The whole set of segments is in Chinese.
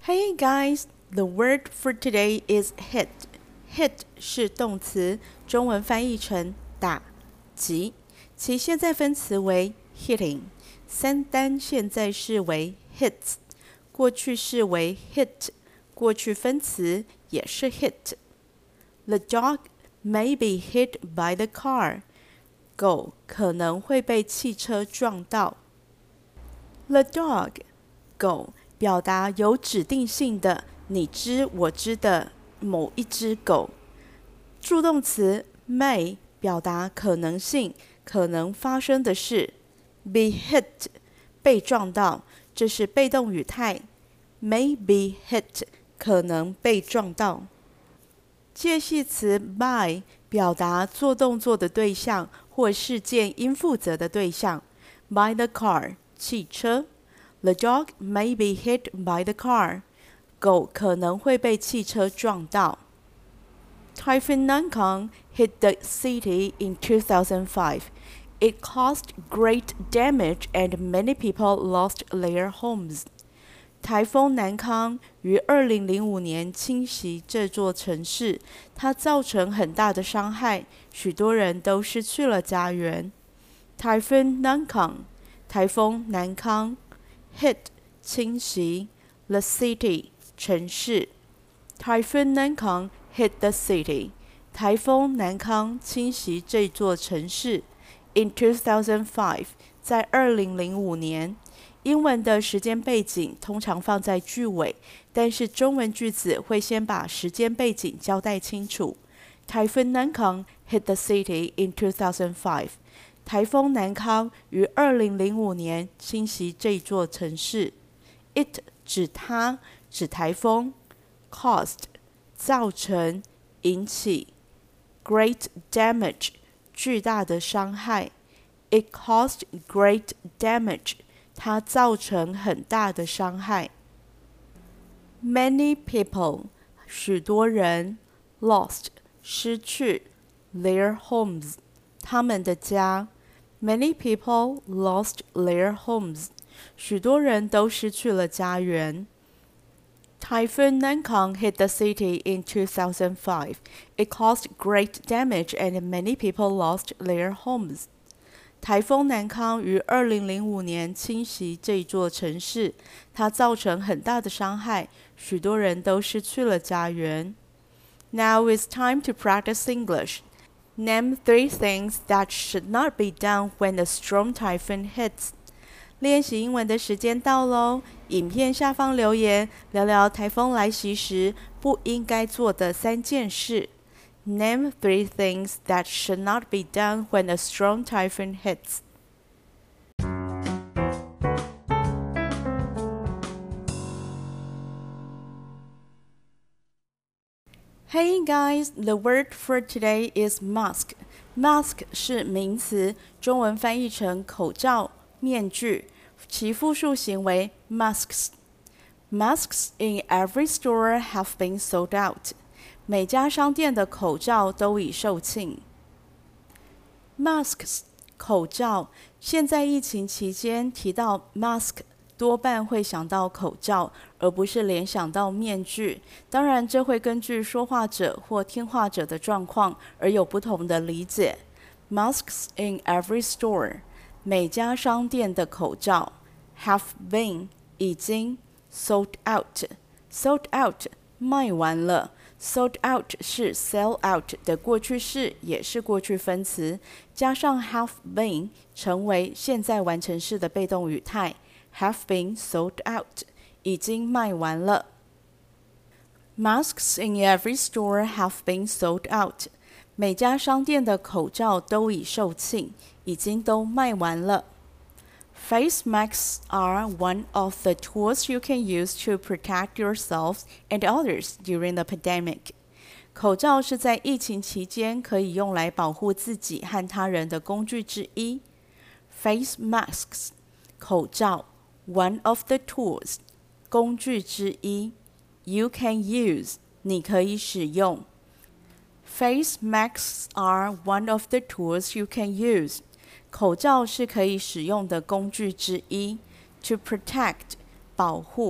Hey guys, the word for today is hit. Hit 是動詞，中文翻譯成打、擊，其現在分詞為 hitting， 三單現在式為 hits， 過去式為 hit， 過去分詞也是 hit。The dog may be hit by the car. 狗可能會被汽車撞到。The dog 狗表達有指定性的你知我知的某一隻狗。助動詞 may 表達可能性，可能發生的事。Be hit 被撞到，這是被動語態。May be hit 可能被撞到。介系詞 by 表達做動作的對象或事件應負責的對象。By the car 汽車。The dog may be hit by the car. 狗可能會被汽車撞到。Typhoon Nankang hit the city in 2005. It caused great damage and many people lost their homes. 颱風南康於2005年侵襲這座城市，它造成很大的傷害，許多人都失去了家園。Typhoon Nankang 颱風南康。Hit 侵襲 the city 城市。Typhoon Nankang hit the city 颱風南康侵襲這座城市。In 2005在2005年。英文的時間背景通常放在句尾，但是中文句子會先把時間背景交代清楚。Typhoon Nankang hit the city in 2005. 颱風南康於2005年侵襲這座城市。It 指它，指颱風。Caused 造成，引起。Great damage 巨大的傷害。It caused great damage 它造成很大的傷害。Many people 許多人。Lost 失去。Their homes 他們的家。Many people lost their homes. 許多人都失去了家園。Typhoon Nankang hit the city in 2005. It caused great damage and many people lost their homes. 颱風南康於2005年侵襲這座城市，它造成很大的傷害，許多人都失去了家園。Now it's time to practice English. Name 3 things that should not be done when a strong typhoon hits. 練習英文的時間到嘍！影片下方留言，聊聊颱風來襲時不應該做的3件事。Name 3 things that should not be done when a strong typhoon hits. Hey guys, the word for today is mask. Mask 是名詞，中文翻譯成口罩、面具，其複數形為 masks. Masks in every store have been sold out. 每家商店的口罩都已售罄。Masks 口罩，現在疫情期間提到 mask。多半會想到口罩，而不是聯想到面具。當然，這會根據說話者或聽話者的狀況而有不同的理解。Masks in every store， 每家商店的口罩。Have been 已經 sold out，sold out 賣完了。Sold out 是 sell out 的過去式，也是過去分詞，加上 have been 成為現在完成式的被動語態。Have been sold out 已經賣完了。Masks in every store have been sold out 每家商店的口罩都已售罄，已經都賣完了。Face masks are one of the tools you can use to protect yourselves and others during the pandemic. 口罩是在疫情期間可以用來保護自己和他人的工具之一。Face masks 口罩。One of the tools 工具之一。You can use 你可以使用。Face masks are one of the tools you can use 口罩是可以使用的工具之一。To protect 保護。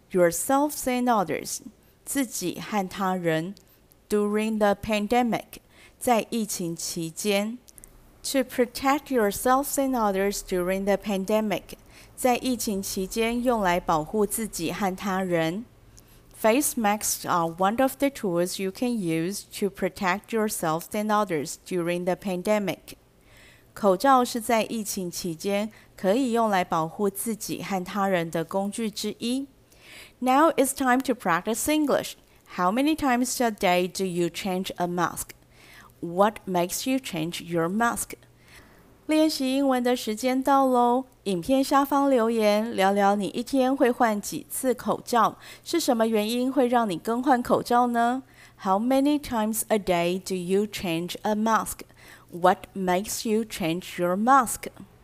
yourselves and others 自己和他人 during the pandemic 在疫情期間 To protect yourselves and others during the pandemic 在疫情期間用來保護自己和他人 Face masks are one of the tools you can use to protect yourselves and others during the pandemic 口罩是在疫情期間可以用來保護自己和他人的工具之一 Now it's time to practice English. How many times a day do you change a mask? What makes you change your mask? 練習英文的時間到嘍！影片下方留言，聊聊你一天會換幾次口罩，是什麼原因會讓你更換口罩呢？ How many times a day do you change a mask? What makes you change your mask?